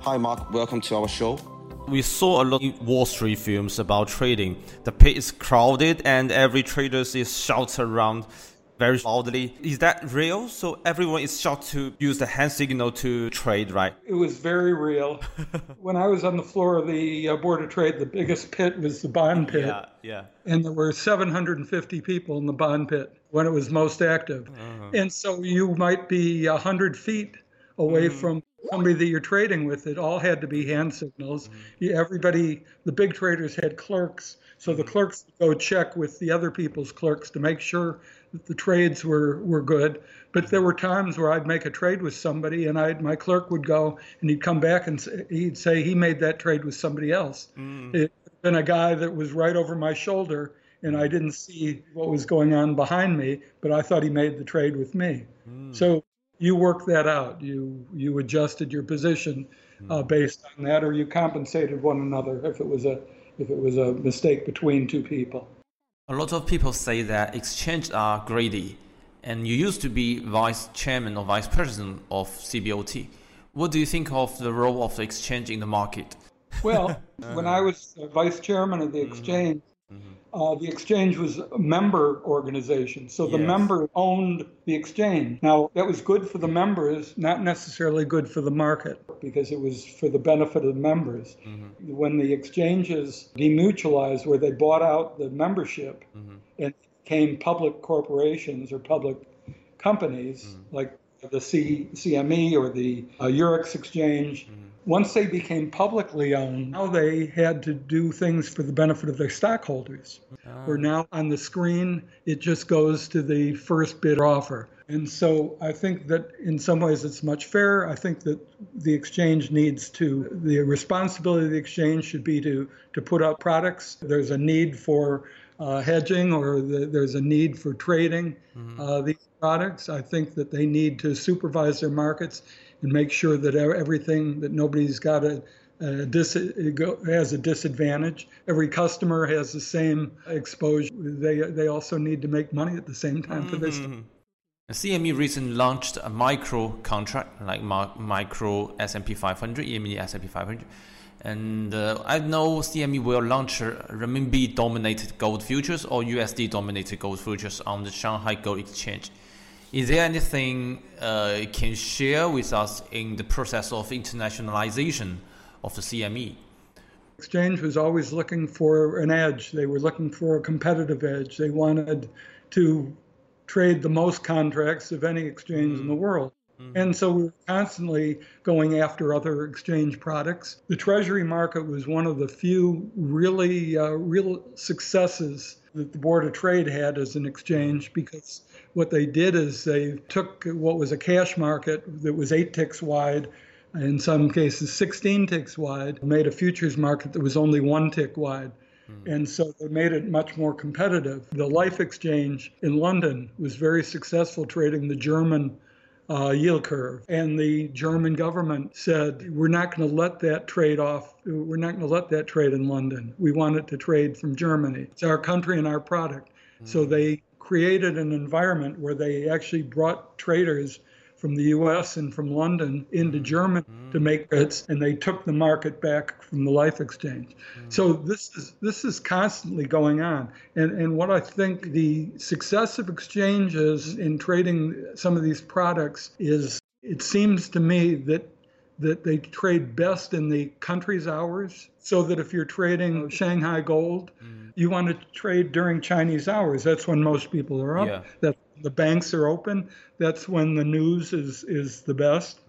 Hi, Mark. Welcome to our show. We saw a lot of Wall Street films about trading. The pit is crowded and every trader is shouting around very loudly. Is that real? So everyone is shouting to use the hand signal to trade, right? It was very real. When I was on the floor of the Board of Trade, the biggest pit was the bond pit. Yeah. And there were 750 people in the bond pit when it was most active. And so you might be 100 feet away from somebody that you're trading with. It all had to be hand signals. Everybody, the big traders had clerks. So the clerks would go check with the other people's clerks to make sure that the trades were good. But there were times where I'd make a trade with somebody and my clerk would go and he'd come back and he'd say he made that trade with somebody else. It had been a guy that was right over my shoulder and I didn't see what was going on behind me, but I thought he made the trade with me. So you worked that out. You adjusted your position based on that, or you compensated one another if it was a mistake between two people. A lot of people say that exchanges are greedy, and you used to be vice chairman or vice president of CBOT. What do you think of the role of the exchange in the market? Well, when I was vice chairman of the exchange, the exchange was a member organization. So the member owned the exchange. Now, that was good for the members, not necessarily good for the market, because it was for the benefit of the members. When the exchanges demutualized, where they bought out the membership and became public corporations or public companies, like the CME or the Eurex exchange, once they became publicly owned, now they had to do things for the benefit of their stockholders. Where now on the screen, it just goes to the first bid offer. And so I think that in some ways it's much fairer. I think that the exchange the responsibility of the exchange should be to put out products. There's a need for hedging or there's a need for trading these products. I think that they need to supervise their markets and make sure that everything, that nobody's got has a disadvantage. Every customer has the same exposure. They also need to make money at the same time for this. CME recently launched a micro contract, like micro S&P 500, EME S&P 500. And I know CME will launch renminbi-dominated gold futures or USD-dominated gold futures on the Shanghai Gold Exchange. Is there anything you can share with us in the process of internationalization of the CME? Exchange was always looking for an edge. They were looking for a competitive edge. They wanted to trade the most contracts of any exchange in the world. And so we were constantly going after other exchange products. The Treasury market was one of the few real successes that the Board of Trade had as an exchange, because what they did is they took what was a cash market that was 8 ticks wide, in some cases 16 ticks wide, made a futures market that was only 1 tick wide. And so they made it much more competitive. The Life Exchange in London was very successful trading the German yield curve. And the German government said, we're not going to let that trade off. We're not going to let that trade in London. We want it to trade from Germany. It's our country and our product. So they created an environment where they actually brought traders from the U.S. and from London into Germany to make bets, and they took the market back from the Life Exchange. So this is constantly going on. And what I think the success of exchanges in trading some of these products is, it seems to me that they trade best in the country's hours, so that if you're trading Shanghai gold, you want to trade during Chinese hours. That's when most people are up. That the banks are open. That's when the news is the best.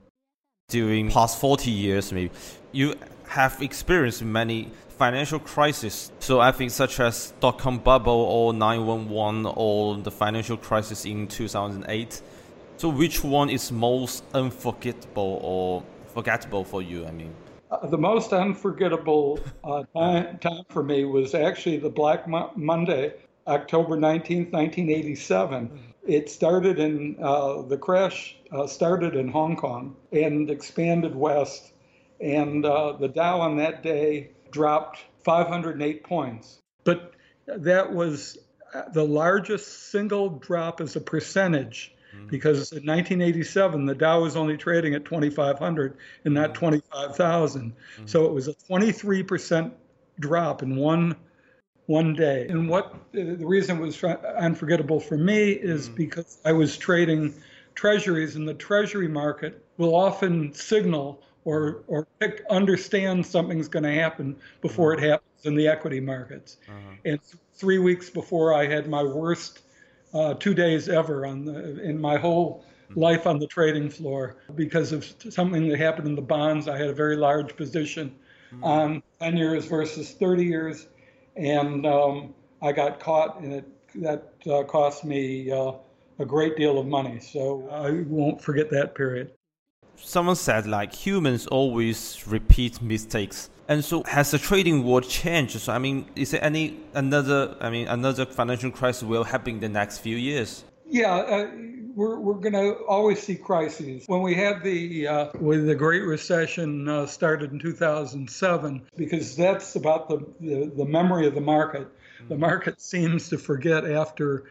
During past 40 years, maybe, you have experienced many financial crises. So I think such as dot-com bubble or 9/11 or the financial crisis in 2008. So which one is most unforgettable or forgettable for you? I mean, the most unforgettable time for me was actually the Black Monday, October 19th, 1987. It started the crash started in Hong Kong and expanded west. And the Dow on that day dropped 508 points. But that was the largest single drop as a percentage because in 1987 the Dow was only trading at 2,500 and not 25,000. So it was a 23% drop in one day. And what the reason it was unforgettable for me is because I was trading treasuries, and the treasury market will often signal or understand something's going to happen before it happens in the equity markets. And 3 weeks before, I had my worst 2 days ever in my whole life on the trading floor because of something that happened in the bonds. I had a very large position on 10 years versus 30 years, and I got caught, and that cost me a great deal of money. So I won't forget that period. Someone said like humans always repeat mistakes. And so has the trading world changed? So I mean, is there another financial crisis will happen in the next few years? Yeah, we're going to always see crises. When we had when the Great Recession started in 2007, because that's about the memory of the market. The market seems to forget after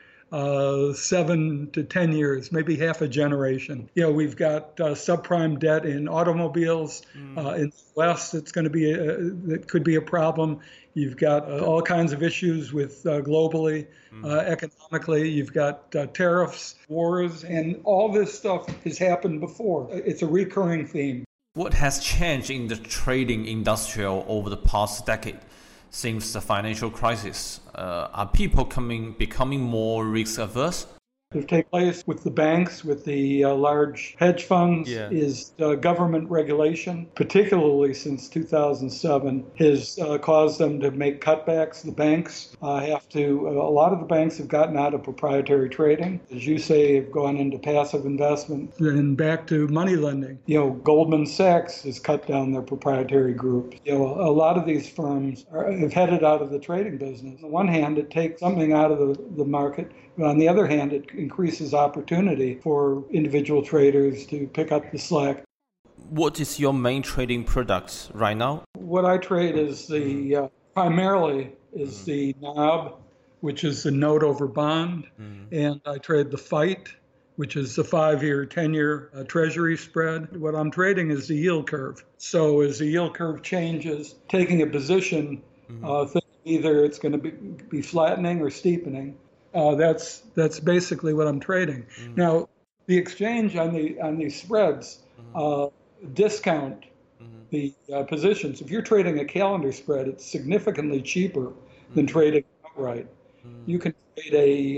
7 to 10 years, maybe half a generation. We've got subprime debt in automobiles. In the West, it's going to be that could be a problem. You've got all kinds of issues with globally, economically. You've got tariffs, wars, and all this stuff has happened before. It's a recurring theme. What has changed in the trading industry over the past decade? Since the financial crisis, are people becoming more risk averse? That take place with the banks, with the large hedge funds, is government regulation, particularly since 2007, has caused them to make cutbacks. The banks a lot of the banks have gotten out of proprietary trading. As you say, have gone into passive investment and back to money lending. Goldman Sachs has cut down their proprietary group. A lot of these firms have headed out of the trading business. On the one hand, it takes something out of the market. On the other hand, it increases opportunity for individual traders to pick up the slack. What is your main trading product right now? What I trade is primarily the NOB, which is the note over bond, and I trade the FIGHT, which is the 5-year, 10-year Treasury spread. What I'm trading is the yield curve. So as the yield curve changes, taking a position, either it's going to be flattening or steepening. That's basically what I'm trading. Now, the exchange on these spreads discount the positions. If you're trading a calendar spread, it's significantly cheaper than trading outright. You can trade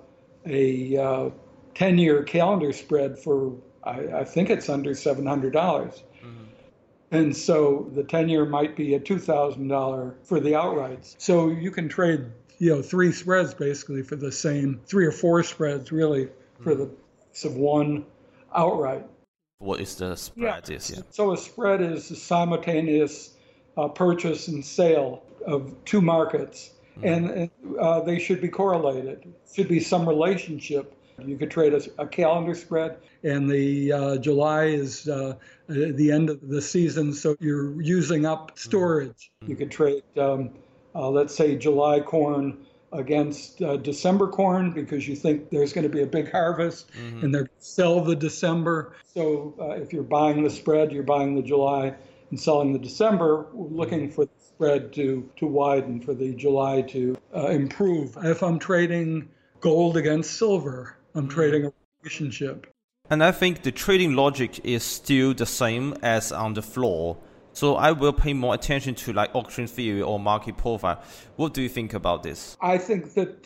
a 10-year calendar spread for I think it's under $700. And so the 10-year might be at $2,000 for the outrights. So you can trade 3 spreads basically for the same, 3 or 4 spreads really for the price of one outright. What is the spread? So a spread is a simultaneous purchase and sale of 2 markets, and they should be correlated. Should be some relationship. You could trade a calendar spread, and the July is the end of the season, so you're using up storage. You could trade, let's say, July corn against December corn because you think there's going to be a big harvest, and they're going to sell the December. So if you're buying the spread, you're buying the July and selling the December, looking for the spread to widen, for the July to improve. If I'm trading gold against silver, I'm trading a relationship. And I think the trading logic is still the same as on the floor. So I will pay more attention to like auction theory or market profile. What do you think about this? I think that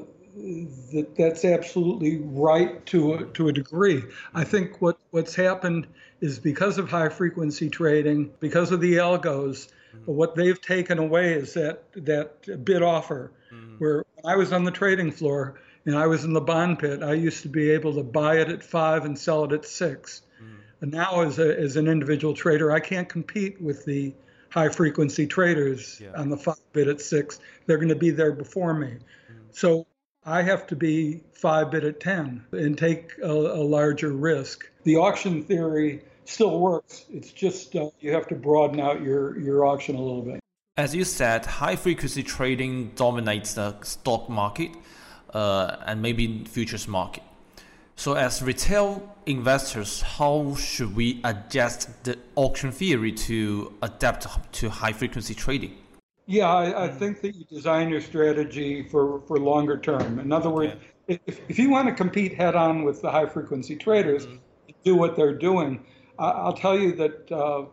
that's absolutely right to a degree. I think what's happened is because of high frequency trading, because of the algos, what they've taken away is that bid offer. Where I was on the trading floor and I was in the bond pit, I used to be able to buy it at 5 and sell it at 6. And now as an individual trader, I can't compete with the high frequency traders on the 5 bid at 6. They're going to be there before me. So I have to be 5 bid at 10 and take a larger risk. The auction theory still works. It's just you have to broaden out your auction a little bit. As you said, high frequency trading dominates the stock market and maybe futures market. So as retail investors, how should we adjust the auction theory to adapt to high frequency trading? Yeah, I think that you design your strategy for longer term. In other words, if you want to compete head on with the high frequency traders, do what they're doing. I'll tell you that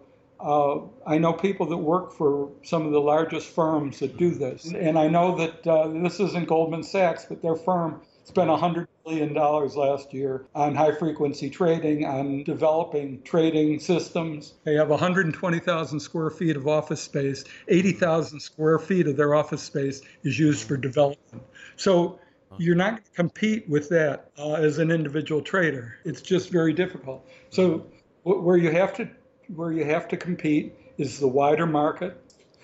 I know people that work for some of the largest firms that do this. And I know that this isn't Goldman Sachs, but their firm spent $100 billion last year on high frequency trading, on developing trading systems. They have 120,000 square feet of office space. 80,000 square feet of their office space is used for development. So you're not going to compete with that as an individual trader. It's just very difficult. So where you have to compete is the wider market.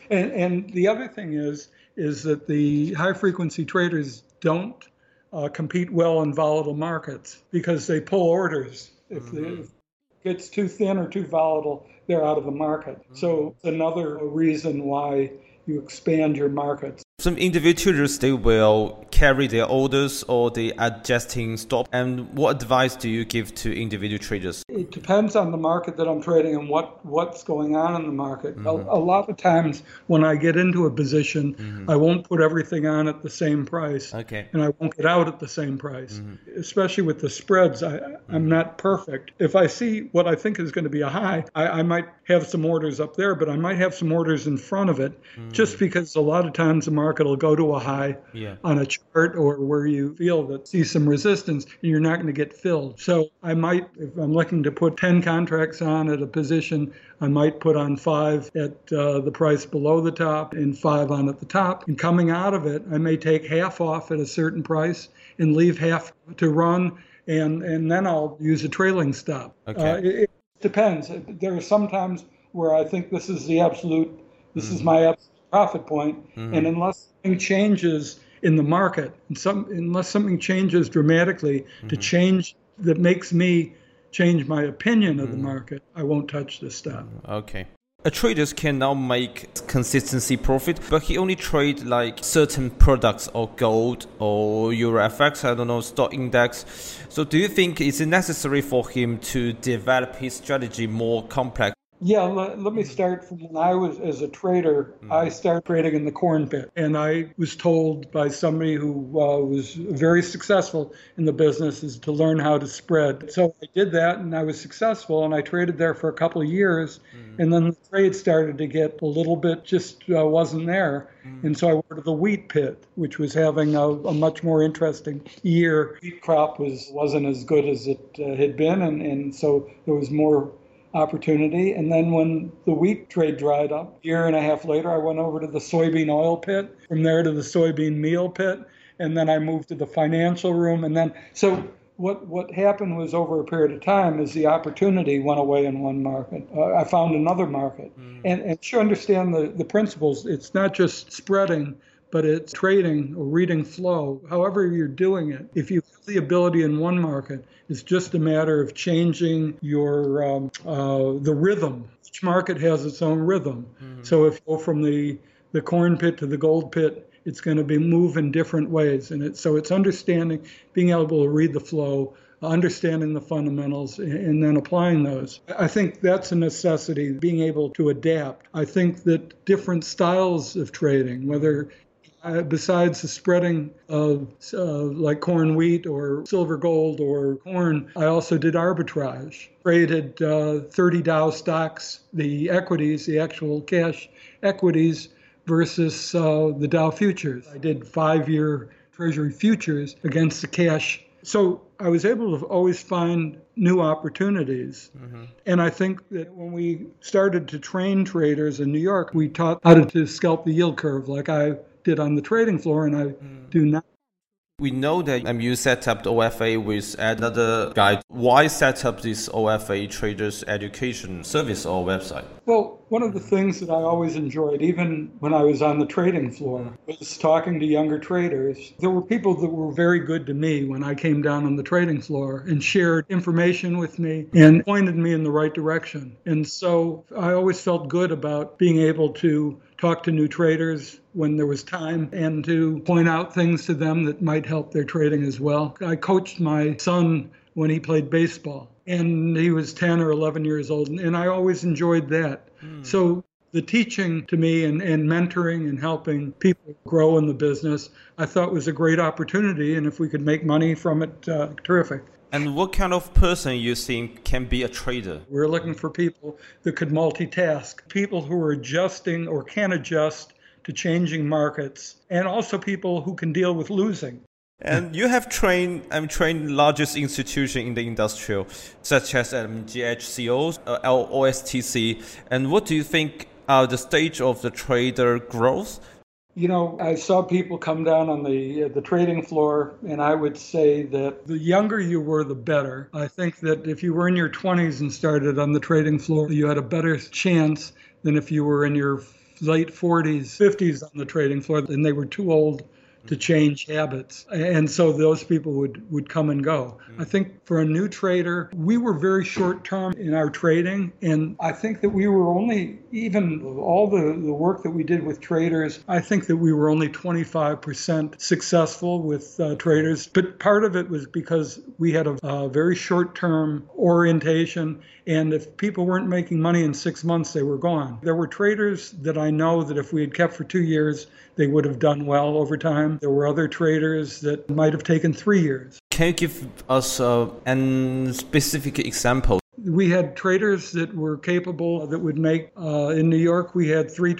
And the other thing is that the high frequency traders don't compete well in volatile markets because they pull orders. If it gets too thin or too volatile, they're out of the market. So another reason why you expand your markets. Some individual traders, they will carry their orders or they adjusting stop. And what advice do you give to individual traders? It depends on the market that I'm trading and what's going on in the market. A lot of times when I get into a position, I won't put everything on at the same price. Okay. And I won't get out at the same price. Especially with the spreads, I'm not perfect. If I see what I think is going to be a high, I might have some orders up there, but I might have some orders in front of it just because a lot of times the market will go to a high on a chart or where you feel that see some resistance and you're not going to get filled. So I might, if I'm looking to put 10 contracts on at a position, I might put on 5 at the price below the top and 5 on at the top. And coming out of it, I may take half off at a certain price and leave half to run, and then I'll use a trailing stop. Okay. It depends. There are some times where I think this is my absolute profit point, and unless something changes in the market, unless something changes dramatically that makes me change my opinion of the market, I won't touch the stock. Okay. A trader can now make consistency profit, but he only trade like certain products or gold or Euro FX, I don't know, stock index. So do you think it's necessary for him to develop his strategy more complex? Yeah, let me start from when I was as a trader. I started trading in the corn pit, and I was told by somebody who was very successful in the business is to learn how to spread. So I did that, and I was successful, and I traded there for a couple of years, and then the trade started to get a little bit just wasn't there, and so I went to the wheat pit, which was having a much more interesting year. Wheat crop wasn't as good as it had been, and so there was more opportunity. And then when the wheat trade dried up, a year and a half later, I went over to the soybean oil pit, from there to the soybean meal pit, and then I moved to the financial room. And then, so what happened was over a period of time is the opportunity went away in one market. I found another market. And you understand the principles. It's not just spreading, but it's trading or reading flow, however you're doing it. If you have the ability in one market, it's just a matter of changing your the rhythm. Each market has its own rhythm. So if you go from the corn pit to the gold pit, it's going to be move in different ways. And so it's understanding, being able to read the flow, understanding the fundamentals, and then applying those. I think that's a necessity, being able to adapt. I think that different styles of trading, whether besides the spreading of like corn wheat or silver gold or corn, I also did arbitrage. Traded 30 Dow stocks, the equities, the actual cash equities versus the Dow futures. I did 5-year Treasury futures against the cash. So I was able to always find new opportunities. And I think that when we started to train traders in New York, we taught how to scalp the yield curve like I did on the trading floor, and I do not. We know that you set up the OFA with another guy. Why set up this OFA Traders Education Service or website? Well, one of the things that I always enjoyed, even when I was on the trading floor, was talking to younger traders. There were people that were very good to me when I came down on the trading floor and shared information with me and pointed me in the right direction. And so I always felt good about being able to talk to new traders when there was time and to point out things to them that might help their trading as well. I coached my son when he played baseball. And he was 10 or 11 years old. And I always enjoyed that. So the teaching to me and mentoring and helping people grow in the business, I thought was a great opportunity. And if we could make money from it, terrific. And what kind of person you think can be a trader? We're looking for people that could multitask, people who are adjusting or can adjust to changing markets, and also people who can deal with losing. And you have trained largest institution in the industry, such as GHCO, OSTC. And what do you think are the stage of the trader growth? You know, I saw people come down on the trading floor, and I would say that the younger you were, the better. I think that if you were in your 20s and started on the trading floor, you had a better chance than if you were in your late 40s, 50s on the trading floor, and they were too old to change habits. And so those people would come and go. I think for a new trader, we were very short term in our trading. And I think that we were only, even all the work that we did with traders, I think that we were only 25% successful with traders. But part of it was because we had a very short term orientation. And if people weren't making money in 6 months, they were gone. There were traders that I know that if we had kept for 2 years, they would have done well over time. There were other traders that might have taken 3 years. Can you give us a specific example? We had traders that were capable that would make, in New York, we had 4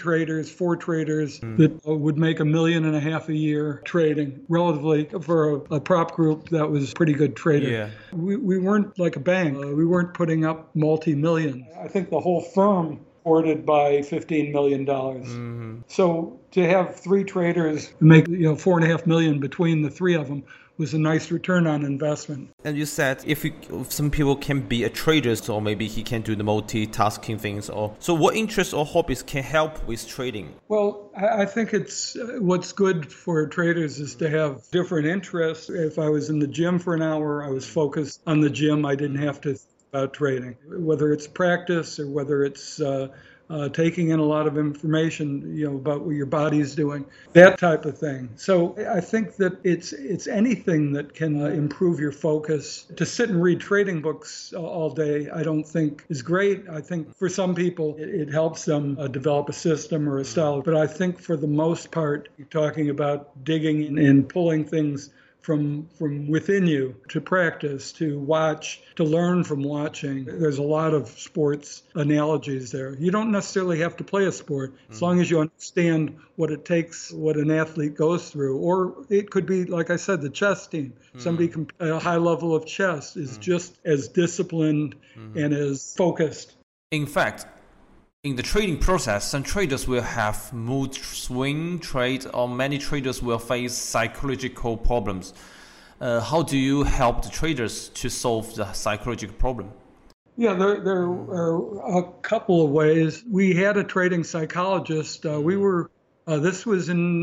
traders that would make $1.5 million a year trading, relatively for a prop group that was pretty good trader. Yeah. We weren't like a bank. We weren't putting up multi-millions. I think the whole firm supported by $15 million. So to have 3 traders make $4.5 million between the 3 of them was a nice return on investment. And you said if some people can be a trader, so maybe he can do the multitasking things. So what interests or hobbies can help with trading? Well, I think it's what's good for traders is to have different interests. If I was in the gym for an hour, I was focused on the gym. I didn't have to think about trading, whether it's practice or whether it's taking in a lot of information, about what your body's doing, that type of thing. So I think that it's anything that can improve your focus. To sit and read trading books all day, I don't think is great. I think for some people, it helps them develop a system or a style. But I think for the most part, you're talking about digging and pulling things from within you to practice, to watch, to learn from watching. There's a lot of sports analogies there. You don't necessarily have to play a sport as long as you understand what it takes, what an athlete goes through. Or it could be, like I said, the chess team. Somebody at a high level of chess is just as disciplined and as focused. In fact, in the trading process, some traders will have mood swing trade, or many traders will face psychological problems. How do you help the traders to solve the psychological problem? Yeah, there are a couple of ways. We had a trading psychologist. This was in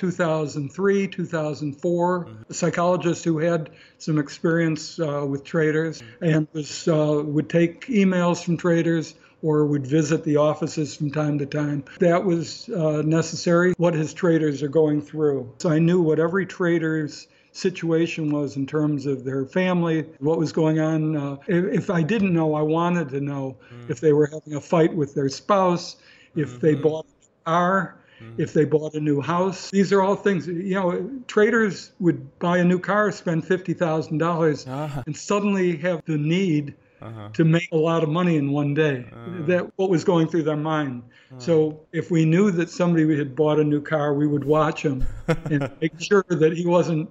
2003, 2004, a psychologist who had some experience with traders and would take emails from traders or would visit the offices from time to time. That was necessary, what his traders are going through. So I knew what every trader's situation was in terms of their family, what was going on. If I didn't know, I wanted to know if they were having a fight with their spouse, if they bought a car, if they bought a new house. These are all things, traders would buy a new car, spend $50,000 and suddenly have the need to make a lot of money in one day. That what was going through their mind. So if we knew that somebody had bought a new car, we would watch him and make sure that he wasn't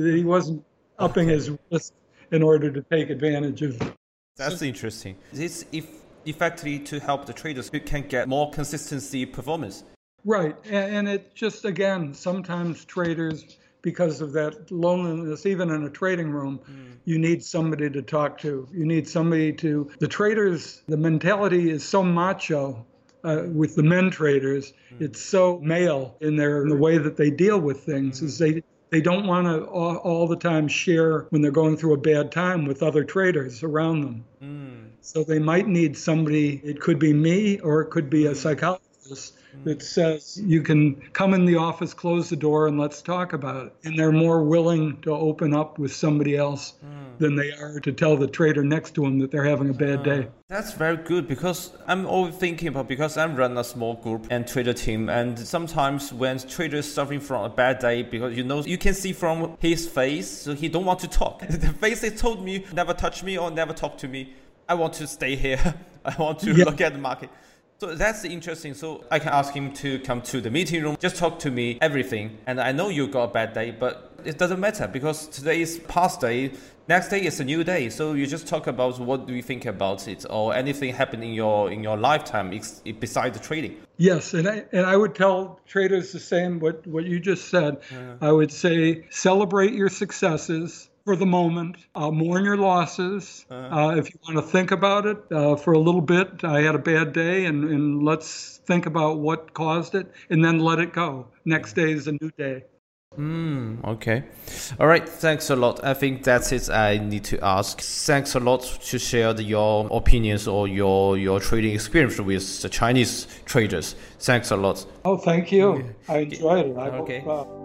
upping his risk in order to take advantage of. That's interesting. This effectively to help the traders who can get more consistency performance. Right, and it just, again, sometimes traders, because of that loneliness, even in a trading room, you need somebody to talk to. You need somebody to, the traders, the mentality is so macho with the men traders. It's so male in the way that they deal with things, is they don't want to all the time share when they're going through a bad time with other traders around them. So they might need somebody, it could be me or it could be a psychologist, office that says you can come in the office, close the door, and let's talk about it. And they're more willing to open up with somebody else than they are to tell the trader next to them that they're having a bad day. That's very good, because I'm always thinking about, because I run a small group and trader team, and sometimes when trader is suffering from a bad day, because you can see from his face, so he don't want to talk. The face he told me, never touch me or never talk to me. I want to stay here. I want to look at the market. So that's interesting. So I can ask him to come to the meeting room, just talk to me, everything. And I know you got a bad day, but it doesn't matter, because today is past day. Next day is a new day. So you just talk about what do you think about it, or anything happened in your lifetime besides the trading. Yes, and I would tell traders the same, what you just said. I would say celebrate your successes for the moment, mourn your losses. If you want to think about it for a little bit, I had a bad day, and let's think about what caused it, and then let it go. Next day is a new day. Okay. All right. Thanks a lot. I think that's it I need to ask. Thanks a lot to share your opinions or your trading experience with the Chinese traders. Thanks a lot. Oh, thank you. I enjoyed it. Okay.